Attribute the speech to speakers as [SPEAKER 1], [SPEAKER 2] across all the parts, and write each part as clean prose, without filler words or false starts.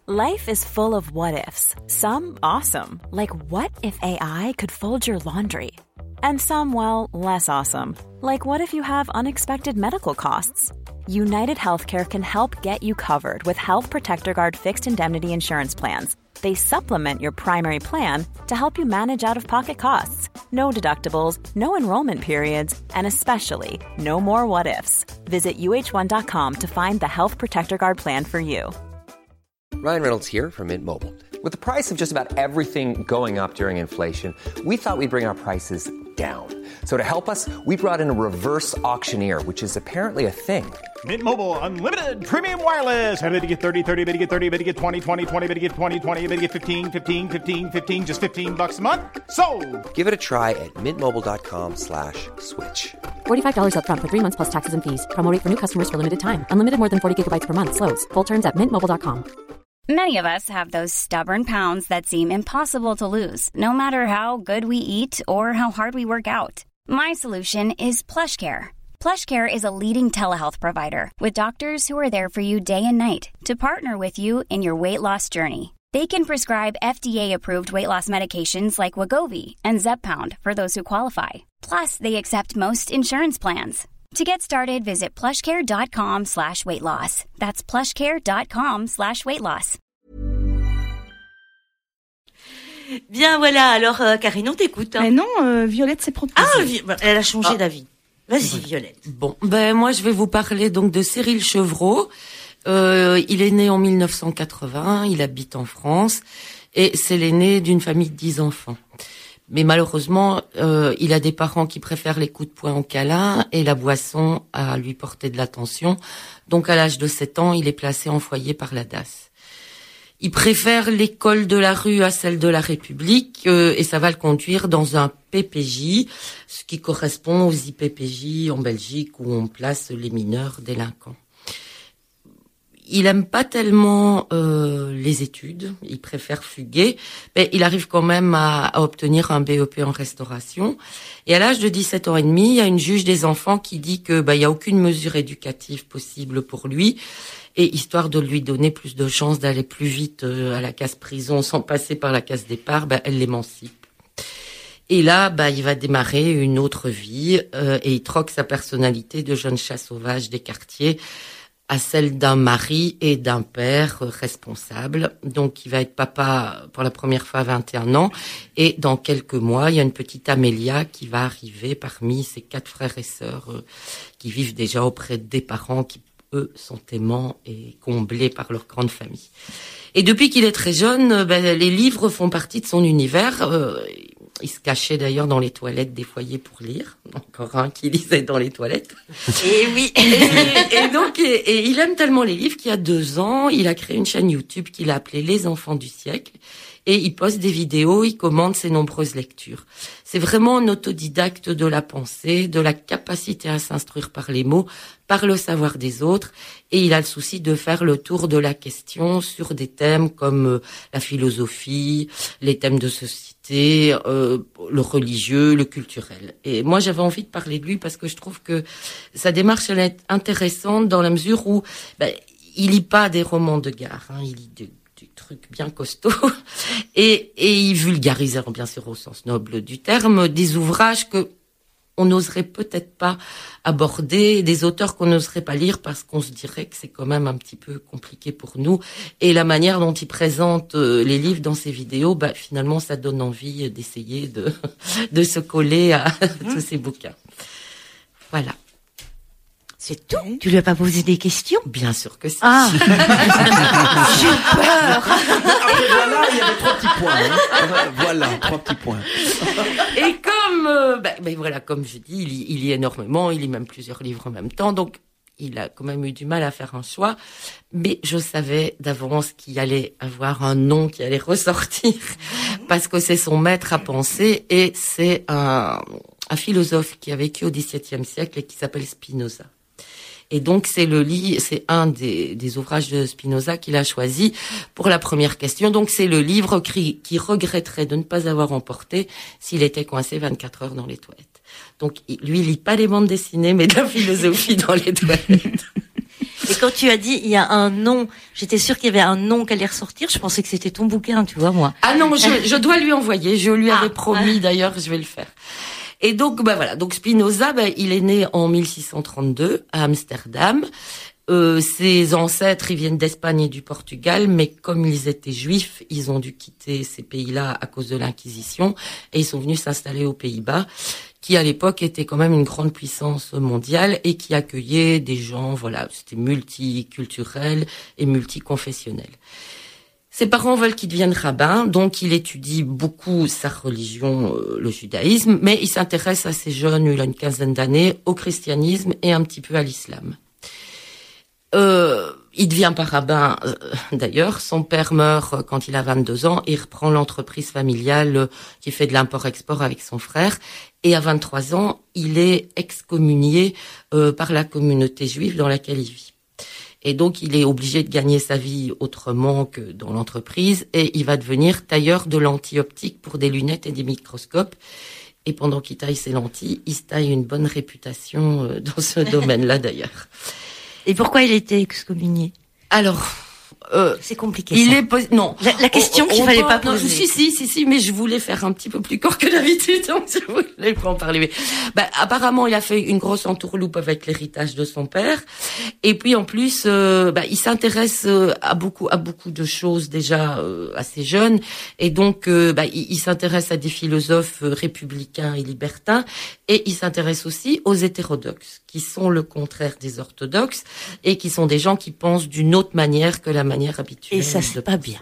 [SPEAKER 1] Life is full of what-ifs. Some awesome, like what if AI could fold your laundry? And some, well, less awesome, like what if you have unexpected medical costs? United Healthcare can help get you covered with Health Protector Guard fixed indemnity insurance plans. They supplement your primary plan to help you manage out-of-pocket costs. No deductibles, no enrollment periods, and especially no more what-ifs. Visit uh1.com to find the Health Protector Guard plan for you.
[SPEAKER 2] Ryan Reynolds here from Mint Mobile. With the price of just about everything going up during inflation, we thought we'd bring our prices down. So to help us, we brought in a reverse auctioneer, which is apparently a thing.
[SPEAKER 3] Mint Mobile Unlimited Premium Wireless. How to get 30, 30, how to get 30, how to get 20, 20, 20, how to get 20, 20, how to get 15, 15, 15, 15, just $15 a month? Sold!
[SPEAKER 2] Give it a try at mintmobile.com/switch.
[SPEAKER 4] $45 up front for 3 months plus taxes and fees. Promo rate for new customers for limited time. Unlimited more than 40 gigabytes per month. Slows full terms at mintmobile.com.
[SPEAKER 5] Many of us have those stubborn pounds that seem impossible to lose, no matter how good we eat or how hard we work out. My solution is PlushCare. PlushCare is a leading telehealth provider with doctors who are there for you day and night to partner with you in your weight loss journey. They can prescribe FDA-approved weight loss medications like Wegovy and Zepbound for those who qualify. Plus, they accept most insurance plans. To get started, visit plushcare.com/weightloss. That's plushcare.com/weightloss.
[SPEAKER 6] Bien, voilà. Alors, Karine, on t'écoute. Hein.
[SPEAKER 7] Mais non, Violette s'est proposée.
[SPEAKER 6] Elle a changé d'avis. Vas-y, Violette.
[SPEAKER 8] Bon, moi, je vais vous parler donc de Cyril Chevreau. Il est né en 1980. Il habite en France. Et c'est l'aîné d'une famille de 10 enfants. Mais malheureusement, il a des parents qui préfèrent les coups de poing au câlin et la boisson à lui porter de l'attention. Donc, à l'âge de 7 ans, il est placé en foyer par la DAS. Il préfère l'école de la rue à celle de la République et ça va le conduire dans un PPJ, ce qui correspond aux IPPJ en Belgique où on place les mineurs délinquants. Il aime pas tellement les études, il préfère fuguer, mais il arrive quand même à obtenir un BEP en restauration. Et à l'âge de 17 ans et demi, il y a une juge des enfants qui dit que il y a aucune mesure éducative possible pour lui. Et histoire de lui donner plus de chances d'aller plus vite à la case prison sans passer par la case départ, elle l'émancipe. Et là, il va démarrer une autre vie et il troque sa personnalité de jeune chat sauvage des quartiers à celle d'un mari et d'un père responsable. Donc, il va être papa pour la première fois à 21 ans. Et dans quelques mois, il y a une petite Amélia qui va arriver parmi ses 4 frères et sœurs qui vivent déjà auprès des parents qui eux sont aimants et comblés par leur grande famille. Et depuis qu'il est très jeune, les livres font partie de son univers. Il se cachait d'ailleurs dans les toilettes des foyers pour lire. Encore un qui lisait dans les toilettes.
[SPEAKER 6] Et oui.
[SPEAKER 8] Et donc, il aime tellement les livres qu'il y a 2 ans, il a créé une chaîne YouTube qu'il a appelée Les Enfants du siècle. Et il poste des vidéos, il commente ses nombreuses lectures. C'est vraiment un autodidacte de la pensée, de la capacité à s'instruire par les mots, par le savoir des autres. Et il a le souci de faire le tour de la question sur des thèmes comme la philosophie, les thèmes de société, le religieux, le culturel. Et moi, j'avais envie de parler de lui parce que je trouve que sa démarche, elle est intéressante dans la mesure où il lit pas des romans de gare, il lit des trucs bien costauds et il vulgarise, bien sûr au sens noble du terme, des ouvrages que on n'oserait peut-être pas aborder, des auteurs qu'on n'oserait pas lire parce qu'on se dirait que c'est quand même un petit peu compliqué pour nous. Et la manière dont il présente les livres dans ses vidéos, finalement, ça donne envie d'essayer de se coller à tous ces bouquins. Voilà.
[SPEAKER 6] C'est tout. Tu lui as pas posé des questions?
[SPEAKER 8] Bien sûr que si.
[SPEAKER 6] Ah. J'ai peur.
[SPEAKER 9] Après, voilà, il y avait 3 petits points. Voilà, 3 petits points.
[SPEAKER 8] Et comme je dis, il lit énormément, il lit même plusieurs livres en même temps, donc il a quand même eu du mal à faire un choix. Mais je savais d'avance qu'il allait avoir un nom qui allait ressortir, parce que c'est son maître à penser, et c'est un philosophe qui a vécu au XVIIe siècle et qui s'appelle Spinoza. Et donc, c'est un des ouvrages de Spinoza qu'il a choisi pour la première question. Donc, c'est le livre qui regretterait de ne pas avoir emporté s'il était coincé 24 heures dans les toilettes. Donc, lui, il lit pas les bandes dessinées, mais de la philosophie dans les toilettes.
[SPEAKER 6] Et quand tu as dit il y a un nom, j'étais sûre qu'il y avait un nom qui allait ressortir. Je pensais que c'était ton bouquin, tu vois, moi.
[SPEAKER 8] Ah non, je dois lui envoyer. Je lui avais promis d'ailleurs, je vais le faire. Et donc, voilà. Donc Spinoza, il est né en 1632 à Amsterdam. Ses ancêtres, ils viennent d'Espagne et du Portugal, mais comme ils étaient juifs, ils ont dû quitter ces pays-là à cause de l'Inquisition et ils sont venus s'installer aux Pays-Bas, qui à l'époque était quand même une grande puissance mondiale et qui accueillait des gens, voilà, c'était multiculturel et multiconfessionnel. Ses parents veulent qu'il devienne rabbin, donc il étudie beaucoup sa religion, le judaïsme, mais il s'intéresse assez jeune, il a une quinzaine d'années, au christianisme et un petit peu à l'islam. Il devient pas rabbin, d'ailleurs. Son père meurt quand il a 22 ans. Il reprend l'entreprise familiale qui fait de l'import-export avec son frère. Et à 23 ans, il est excommunié par la communauté juive dans laquelle il vit. Et donc, il est obligé de gagner sa vie autrement que dans l'entreprise. Et il va devenir tailleur de lentilles optiques pour des lunettes et des microscopes. Et pendant qu'il taille ses lentilles, il se taille une bonne réputation dans ce domaine-là, d'ailleurs.
[SPEAKER 6] Et pourquoi il était excommunié?
[SPEAKER 8] Alors,
[SPEAKER 6] c'est compliqué.
[SPEAKER 8] Non.
[SPEAKER 6] La question qu'il fallait pas poser.
[SPEAKER 8] Si, mais je voulais faire un petit peu plus court que d'habitude, donc je voulais pas en parler. Mais, apparemment, il a fait une grosse entourloupe avec l'héritage de son père. Et puis, en plus, il s'intéresse à beaucoup de choses déjà assez jeunes. Et donc, il s'intéresse à des philosophes républicains et libertins. Et il s'intéresse aussi aux hétérodoxes, qui sont le contraire des orthodoxes et qui sont des gens qui pensent d'une autre manière que la manière habituelle.
[SPEAKER 6] Et ça, c'est pas bien.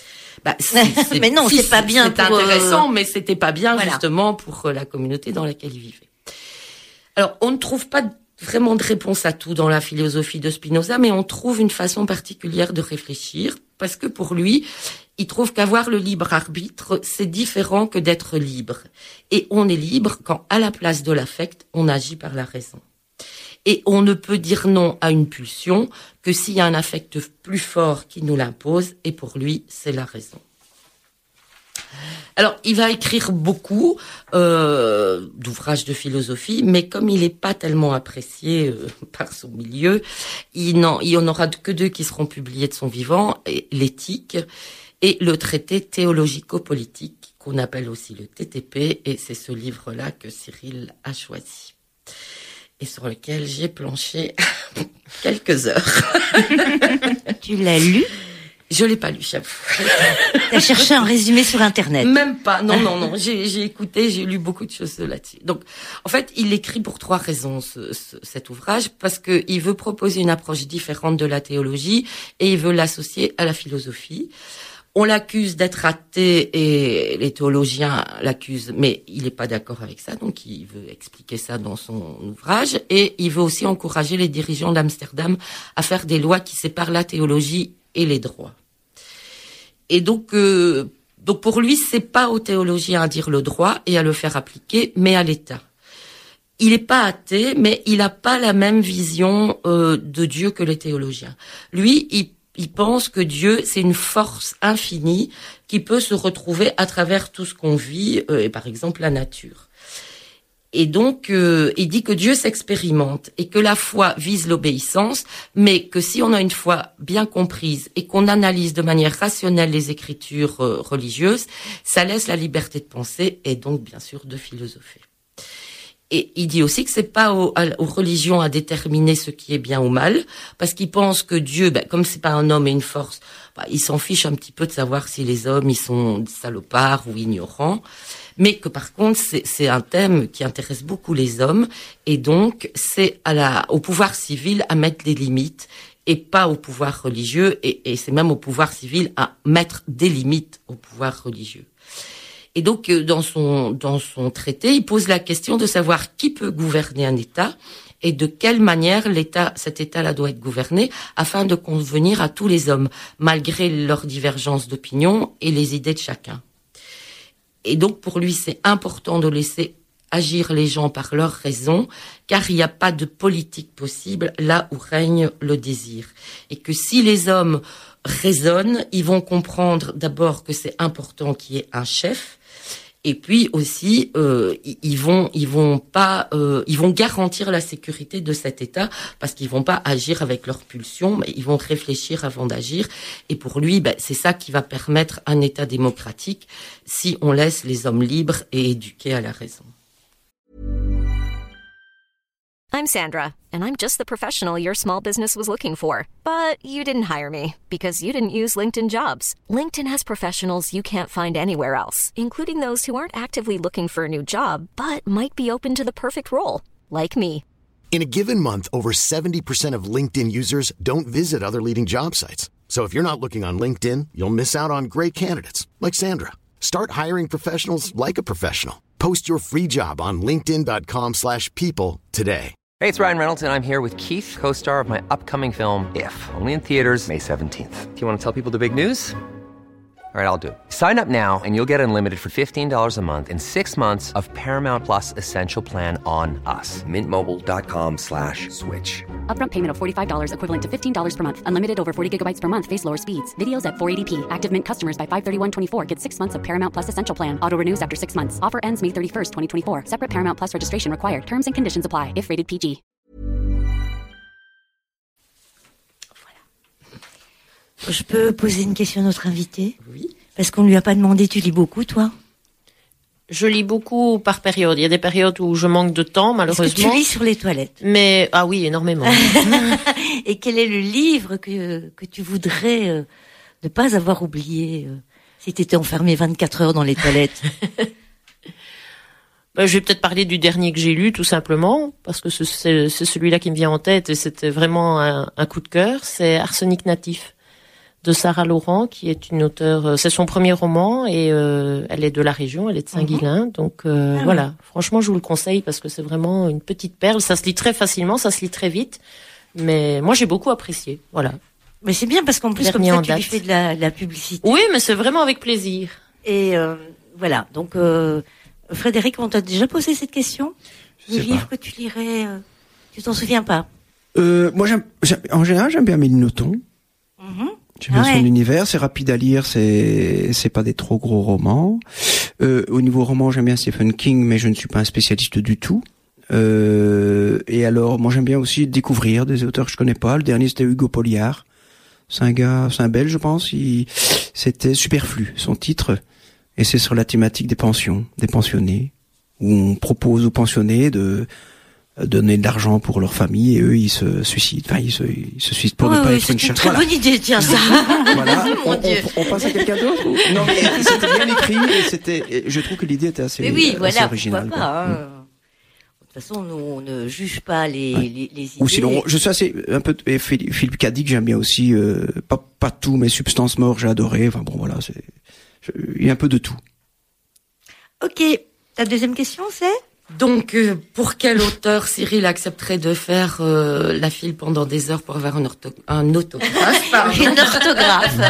[SPEAKER 8] Mais non, c'est pas bien.
[SPEAKER 6] C'est
[SPEAKER 8] intéressant, mais c'était pas bien justement pour la communauté dans laquelle il vivait. Alors, on ne trouve pas vraiment de réponse à tout dans la philosophie de Spinoza, mais on trouve une façon particulière de réfléchir, parce que pour lui, il trouve qu'avoir le libre arbitre, c'est différent que d'être libre. Et on est libre quand, à la place de l'affect, on agit par la raison. Et on ne peut dire non à une pulsion que s'il y a un affect plus fort qui nous l'impose, et pour lui, c'est la raison. Alors, il va écrire beaucoup d'ouvrages de philosophie, mais comme il n'est pas tellement apprécié par son milieu, il n'y en aura que 2 qui seront publiés de son vivant, l'éthique et le traité théologico-politique, qu'on appelle aussi le TTP, et c'est ce livre-là que Cyril a choisi. Et sur lequel j'ai planché quelques heures.
[SPEAKER 6] Tu l'as lu?
[SPEAKER 8] Je l'ai pas lu, j'avoue.
[SPEAKER 6] T'as cherché un résumé sur Internet?
[SPEAKER 8] Même pas. Non. J'ai écouté, j'ai lu beaucoup de choses là-dessus. Donc, en fait, il écrit pour 3 raisons cet ouvrage, parce que il veut proposer une approche différente de la théologie et il veut l'associer à la philosophie. On l'accuse d'être athée et les théologiens l'accusent, mais il n'est pas d'accord avec ça, donc il veut expliquer ça dans son ouvrage. Et il veut aussi encourager les dirigeants d'Amsterdam à faire des lois qui séparent la théologie et les droits. Et donc pour lui, c'est pas aux théologiens à dire le droit et à le faire appliquer, mais à l'État. Il n'est pas athée, mais il n'a pas la même vision de Dieu que les théologiens. Lui, il pense que Dieu, c'est une force infinie qui peut se retrouver à travers tout ce qu'on vit, et par exemple la nature. Et donc, il dit que Dieu s'expérimente et que la foi vise l'obéissance, mais que si on a une foi bien comprise et qu'on analyse de manière rationnelle les écritures religieuses, ça laisse la liberté de penser et donc bien sûr de philosopher. Et il dit aussi que c'est pas aux religions à déterminer ce qui est bien ou mal, parce qu'il pense que Dieu, comme c'est pas un homme et une force, il s'en fiche un petit peu de savoir si les hommes ils sont salopards ou ignorants, mais que par contre c'est un thème qui intéresse beaucoup les hommes, et donc c'est au pouvoir civil à mettre des limites et pas au pouvoir religieux, et c'est même au pouvoir civil à mettre des limites au pouvoir religieux. Et donc, dans son traité, il pose la question de savoir qui peut gouverner un État et de quelle manière cet État-là doit être gouverné afin de convenir à tous les hommes, malgré leurs divergences d'opinion et les idées de chacun. Et donc, pour lui, c'est important de laisser agir les gens par leurs raisons, car il n'y a pas de politique possible là où règne le désir. Et que si les hommes raisonnent, ils vont comprendre d'abord que c'est important qu'il y ait un chef, Et puis aussi, ils vont garantir la sécurité de cet État parce qu'ils vont pas agir avec leurs pulsions, mais ils vont réfléchir avant d'agir. Et pour lui, c'est ça qui va permettre un État démocratique si on laisse les hommes libres et éduqués à la raison.
[SPEAKER 7] I'm Sandra, and I'm just the professional your small business was looking for. But you didn't hire me because you didn't use LinkedIn Jobs. LinkedIn has professionals you can't find anywhere else, including those who aren't actively looking for a new job, but might be open to the perfect role, like me.
[SPEAKER 10] In a given month, over 70% of LinkedIn users don't visit other leading job sites. So if you're not looking on LinkedIn, you'll miss out on great candidates, like Sandra. Start hiring professionals like a professional. Post your free job on linkedin.com/people today.
[SPEAKER 2] Hey, it's Ryan Reynolds, and I'm here with Keith, co-star of my upcoming film, If, only in theaters May 17th. Do you want to tell people the big news? All right, I'll do it. Sign up now and you'll get unlimited for $15 a month and 6 months of Paramount Plus Essential Plan on us. MintMobile.com/switch.
[SPEAKER 4] Upfront payment of $45 equivalent to $15 per month. Unlimited over 40 gigabytes per month. Face lower speeds. Videos at 480p. Active Mint customers by 531.24 get 6 months of Paramount Plus Essential Plan. Auto renews after 6 months. Offer ends May 31st, 2024. Separate Paramount Plus registration required. Terms and conditions apply if rated PG.
[SPEAKER 6] Je peux poser une question à notre invité?
[SPEAKER 8] Oui.
[SPEAKER 6] Parce qu'on lui a pas demandé, tu lis beaucoup, toi?
[SPEAKER 11] Je lis beaucoup par période. Il y a des périodes où je manque de temps, malheureusement.
[SPEAKER 6] Est-ce que tu lis sur les toilettes?
[SPEAKER 11] Mais, ah oui, énormément.
[SPEAKER 6] Et quel est le livre que tu voudrais ne pas avoir oublié si tu étais enfermé 24 heures dans les toilettes?
[SPEAKER 11] Je vais peut-être parler du dernier que j'ai lu, tout simplement, parce que c'est celui-là qui me vient en tête et c'était vraiment un coup de cœur. C'est Arsenic natif de Sarah Laurent, qui est une auteure. C'est son premier roman et elle est de la région, elle est de Saint-Guilain. Donc voilà, franchement, je vous le conseille parce que c'est vraiment une petite perle. Ça se lit très facilement, ça se lit très vite, mais moi j'ai beaucoup apprécié. Voilà.
[SPEAKER 6] Mais c'est bien parce qu'en plus comme ça tu lui fais de la publicité.
[SPEAKER 11] Oui, mais c'est vraiment avec plaisir.
[SPEAKER 6] Et voilà. Donc Frédéric, on t'a déjà posé cette question? Le livre que tu lirais, tu t'en souviens pas?
[SPEAKER 9] Moi, en général, j'aime bien Méline Nothomb. J'aime bien son univers, c'est rapide à lire, c'est pas des trop gros romans. Au niveau roman, j'aime bien Stephen King, mais je ne suis pas un spécialiste du tout. Et alors, moi, j'aime bien aussi découvrir des auteurs que je connais pas. Le dernier, c'était Hugo Polliard. C'est un Belge, je pense. C'était Superflu, son titre. Et c'est sur la thématique des pensions, des pensionnés, où on propose aux pensionnés de donner de l'argent pour leur famille et eux ils se suicident. Enfin ils se suicident pour ne pas être une chercheuse.
[SPEAKER 6] C'est une très bonne idée, tiens ça.
[SPEAKER 9] Voilà. On passe à quelqu'un d'autre. Non mais c'était bien écrit et je trouve que l'idée était assez originale.
[SPEAKER 6] Pourquoi pas, De toute façon, nous on ne juge pas les idées.
[SPEAKER 9] Ou sinon, je suis assez un peu Philippe Cadic, j'aime bien aussi pas tout, mais Substance Mort, j'ai adoré. Enfin bon voilà, il y a un peu de tout.
[SPEAKER 6] Ok, ta deuxième question c'est?
[SPEAKER 8] Donc, pour quel auteur Cyril accepterait de faire la file pendant des heures pour avoir un autographe?
[SPEAKER 6] Une orthographe.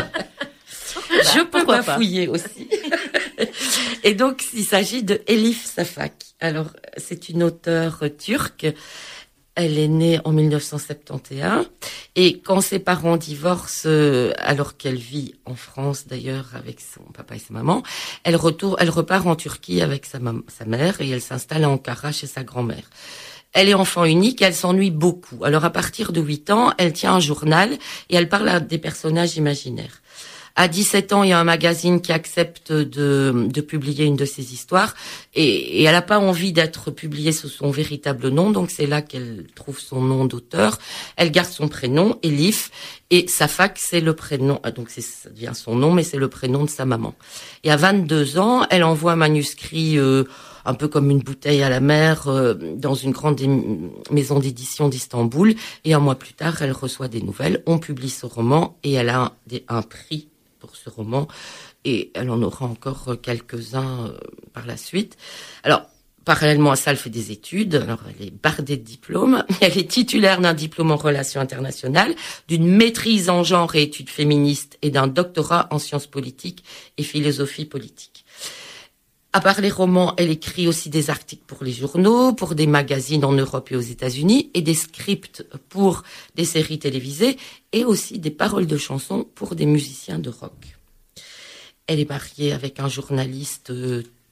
[SPEAKER 8] Je peux pas fouiller aussi. Et donc, il s'agit de Elif Shafak. Alors, c'est une auteure turque. Elle est née en 1971 et quand ses parents divorcent, alors qu'elle vit en France d'ailleurs avec son papa et sa maman, elle repart en Turquie avec sa mère et elle s'installe à Ankara chez sa grand-mère. Elle est enfant unique, elle s'ennuie beaucoup. Alors à partir de 8 ans, elle tient un journal et elle parle à des personnages imaginaires. À 17 ans, il y a un magazine qui accepte de publier une de ses histoires et elle n'a pas envie d'être publiée sous son véritable nom, donc c'est là qu'elle trouve son nom d'auteur. Elle garde son prénom, Elif, et Shafak, c'est le prénom, donc ça devient son nom, mais c'est le prénom de sa maman. Et à 22 ans, elle envoie un manuscrit un peu comme une bouteille à la mer dans une grande maison d'édition d'Istanbul, et un mois plus tard, elle reçoit des nouvelles, on publie ce roman et elle a un prix pour ce roman, et elle en aura encore quelques-uns par la suite. Alors, parallèlement à ça, elle fait des études. Alors, elle est bardée de diplômes. Elle est titulaire d'un diplôme en relations internationales, d'une maîtrise en genre et études féministes et d'un doctorat en sciences politiques et philosophie politique. À part les romans, elle écrit aussi des articles pour les journaux, pour des magazines en Europe et aux États-Unis, et des scripts pour des séries télévisées, et aussi des paroles de chansons pour des musiciens de rock. Elle est mariée avec un journaliste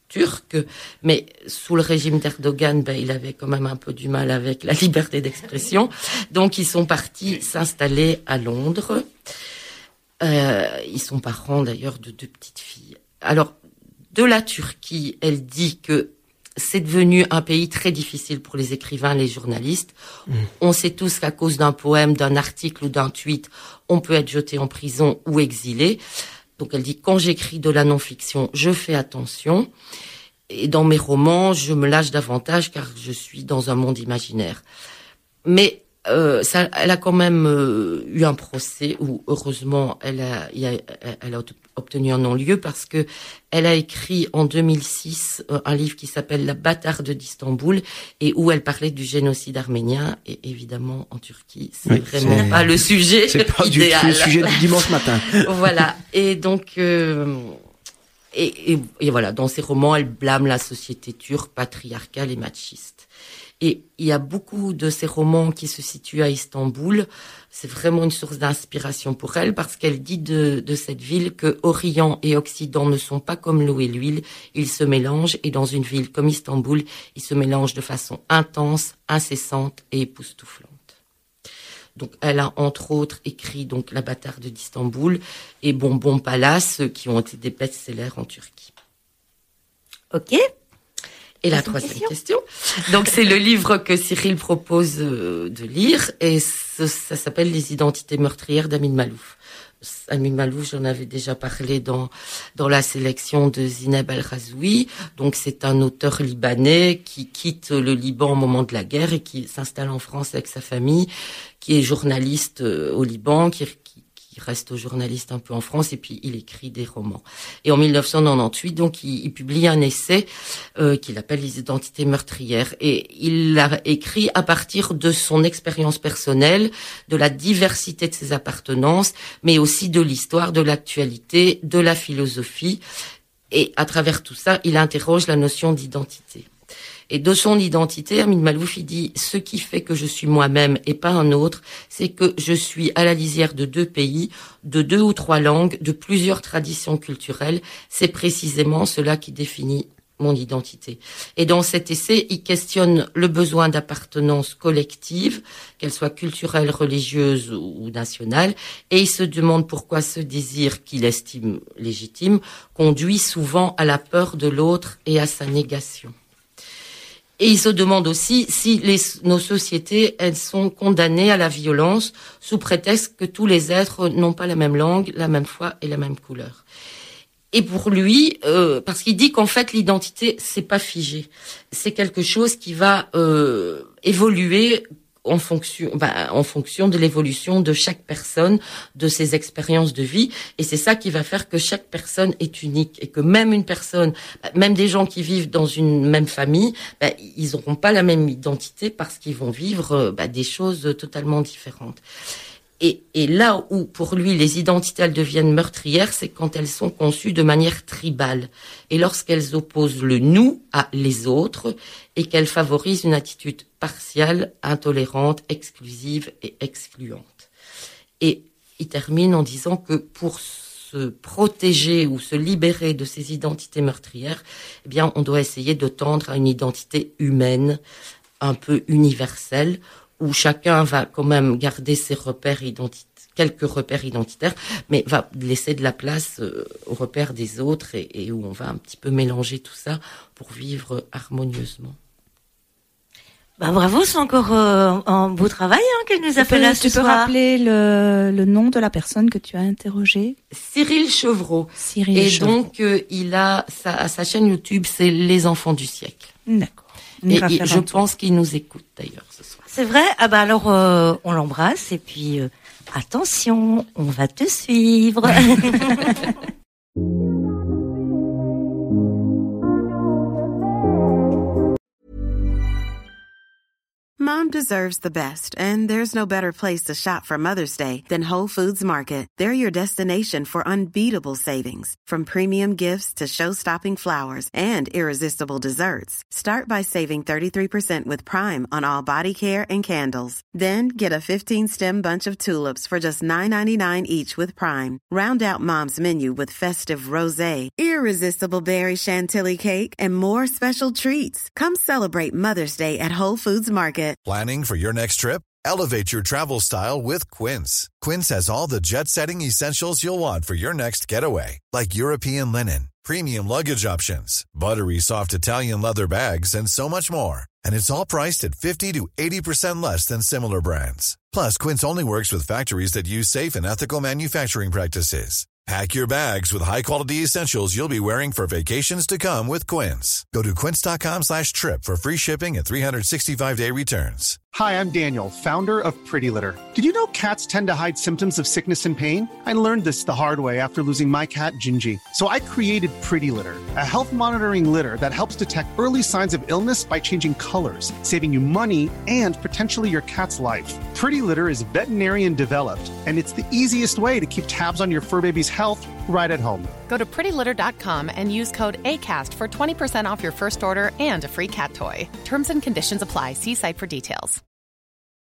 [SPEAKER 8] turc, mais sous le régime d'Erdogan, il avait quand même un peu du mal avec la liberté d'expression. Donc, ils sont partis s'installer à Londres. Ils sont parents, d'ailleurs, de 2 petites filles. Alors, de la Turquie, elle dit que c'est devenu un pays très difficile pour les écrivains, les journalistes. On sait tous qu'à cause d'un poème, d'un article ou d'un tweet, on peut être jeté en prison ou exilé. Donc elle dit, quand j'écris de la non-fiction, je fais attention. Et dans mes romans, je me lâche davantage car je suis dans un monde imaginaire. Mais elle a quand même eu un procès où, heureusement, elle a obtenu un non-lieu parce que elle a écrit en 2006 un livre qui s'appelle La bâtarde d'Istanbul et où elle parlait du génocide arménien. Et évidemment, en Turquie, c'est vraiment pas le sujet
[SPEAKER 9] c'est pas
[SPEAKER 8] idéal.
[SPEAKER 9] du tout le sujet du dimanche matin.
[SPEAKER 8] Voilà. Et donc, et voilà, dans ses romans, elle blâme la société turque, patriarcale et machiste. Et il y a beaucoup de ces romans qui se situent à Istanbul. C'est vraiment une source d'inspiration pour elle parce qu'elle dit de cette ville que Orient et Occident ne sont pas comme l'eau et l'huile. Ils se mélangent et dans une ville comme Istanbul, ils se mélangent de façon intense, incessante et époustouflante. Donc, elle a entre autres écrit donc La bâtarde d'Istanbul et Bonbon Palace qui ont été des best-sellers en Turquie.
[SPEAKER 6] Ok.
[SPEAKER 8] Et la troisième question. Donc, c'est le livre que Cyril propose de lire et ça s'appelle Les identités meurtrières d'Amin Malouf. Amin Malouf, j'en avais déjà parlé dans la sélection de Zineb El-Razoui. Donc, c'est un auteur libanais qui quitte le Liban au moment de la guerre et qui s'installe en France avec sa famille, qui est journaliste au Liban, qui reste journaliste un peu en France et puis il écrit des romans. Et en 1998, donc, il publie un essai qu'il appelle Les identités meurtrières et il l'a écrit à partir de son expérience personnelle, de la diversité de ses appartenances, mais aussi de l'histoire, de l'actualité, de la philosophie. Et à travers tout ça, il interroge la notion d'identité. Et de son identité, Amin Malouf, il dit « Ce qui fait que je suis moi-même et pas un autre, c'est que je suis à la lisière de 2 pays, de 2 ou 3 langues, de plusieurs traditions culturelles. C'est précisément cela qui définit mon identité. » Et dans cet essai, il questionne le besoin d'appartenance collective, qu'elle soit culturelle, religieuse ou nationale, et il se demande pourquoi ce désir qu'il estime légitime conduit souvent à la peur de l'autre et à sa négation. Et il se demande aussi si nos sociétés, elles sont condamnées à la violence sous prétexte que tous les êtres n'ont pas la même langue, la même foi et la même couleur. Et pour lui, parce qu'il dit qu'en fait l'identité c'est pas figé, c'est quelque chose qui va évoluer en fonction de l'évolution de chaque personne, de ses expériences de vie, et c'est ça qui va faire que chaque personne est unique et que même une personne, même des gens qui vivent dans une même famille, ils n'auront pas la même identité parce qu'ils vont vivre des choses totalement différentes. Et là où, pour lui, les identités, elles deviennent meurtrières, c'est quand elles sont conçues de manière tribale. Et lorsqu'elles opposent le nous à les autres et qu'elles favorisent une attitude partiale, intolérante, exclusive et excluante. Et il termine en disant que pour se protéger ou se libérer de ces identités meurtrières, eh bien, on doit essayer de tendre à une identité humaine, un peu universelle, où chacun va quand même garder ses repères quelques repères identitaires, mais va laisser de la place aux repères des autres et où on va un petit peu mélanger tout ça pour vivre harmonieusement.
[SPEAKER 6] Bravo, c'est encore un beau travail qu'elle nous a fait là ce soir.
[SPEAKER 12] Tu peux rappeler le nom de la personne que tu as interrogée?
[SPEAKER 8] Cyril Chevreau. Donc il a sa chaîne YouTube, c'est Les Enfants du siècle.
[SPEAKER 12] D'accord.
[SPEAKER 8] Et je pense qu'il nous écoute d'ailleurs ce soir.
[SPEAKER 6] C'est vrai? Alors on l'embrasse et puis attention, on va te suivre.
[SPEAKER 13] Mom Mom deserves the best, and there's no better place to shop for Mother's Day than Whole Foods Market. They're your destination for unbeatable savings, from premium gifts to show-stopping flowers and irresistible desserts. Start by saving 33% with Prime on all body care and candles. Then get a 15-stem bunch of tulips for just $9.99 each with Prime. Round out Mom's menu with festive rosé, irresistible berry chantilly cake, and more special treats. Come celebrate Mother's Day at Whole Foods Market.
[SPEAKER 14] Planning for your next trip? Elevate your travel style with Quince. Quince has all the jet-setting essentials you'll want for your next getaway, like European linen, premium luggage options, buttery soft Italian leather bags, and so much more. And it's all priced at 50 to 80% less than similar brands. Plus, Quince only works with factories that use safe and ethical manufacturing practices. Pack your bags with high-quality essentials you'll be wearing for vacations to come with Quince. Go to quince.com/trip for free shipping and 365-day returns.
[SPEAKER 3] Hi, I'm Daniel, founder of Pretty Litter. Did you know cats tend to hide symptoms of sickness and pain? I learned this the hard way after losing my cat, Gingy. So I created Pretty Litter, a health monitoring litter that helps detect early signs of illness by changing colors, saving you money and potentially your cat's life. Pretty Litter is veterinarian developed, and it's the easiest way to keep tabs on your fur baby's health right at home.
[SPEAKER 15] Go to prettylitter.com and use code ACAST for 20% off your first order and a free cat toy. Terms and conditions apply. See site for details.